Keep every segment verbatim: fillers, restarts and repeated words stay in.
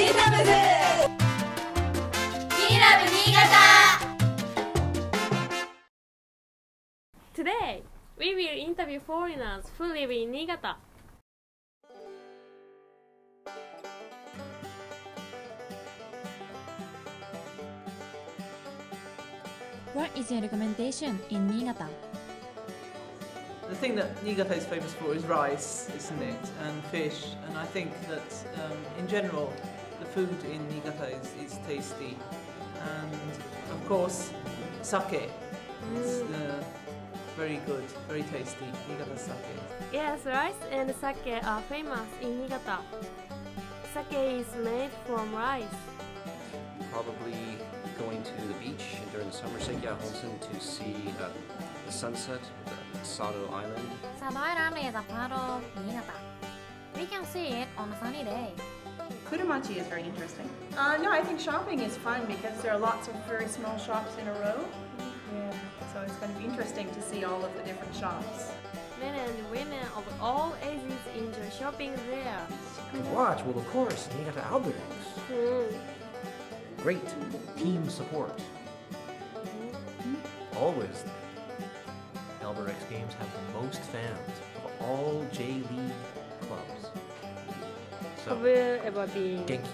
ラブズキーラブ新潟 Today, we will interview foreigners who live in Niigata. What is your recommendation in Niigata? The thing that Niigata is famous for is rice, isn't it, and fish, and I think that um, in general the food in Niigata is, is tasty, and of course sake is uh, very good, very tasty, Niigata sake. Yes, rice and sake are famous in Niigata. Sake is made from rice. Probably going to the beach during the summer, Seikya Honsen, to see uh, the sunset at Sado Island. Sado Island is a part of Niigata. We can see it on a sunny day. Kurumachi is very interesting. Uh, no, I think shopping is fun because there are lots of very small shops in a row. Yeah, so it's going to be interesting to see all of the different shops. Men and women of all ages enjoy shopping there. To watch, well, of course, Niigata Albirex. Mm. Great team support. Always. Albirex games have the most fans of all J-League clubs. So, Have you ever been? Genki.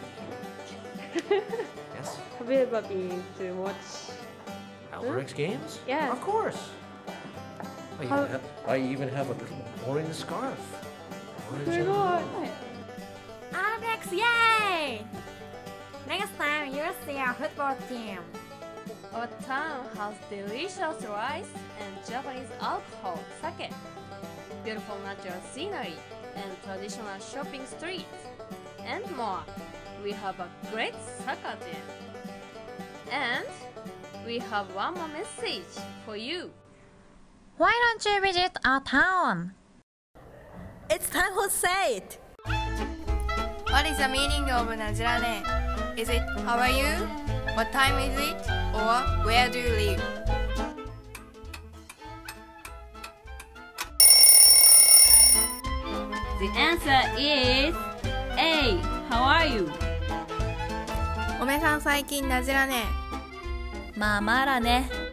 Yes? Have you ever been to watch? Albirex games? Yes. Of course. I even, How- have, I even have a little orange scarf. Orange and Very blue. Alex, yay! Next time you'll see our football team. Our town has delicious rice and Japanese alcohol, sake, beautiful natural scenery, and traditional shopping streets, and more. We have a great soccer team. And we have one more message for you. Why don't you visit our town? It's time for say it. What is the meaning of Najirane? Is it how are you? What time is it? Or where do you live? The answer is A. How are you? おめさん最近なじらねまあまだね。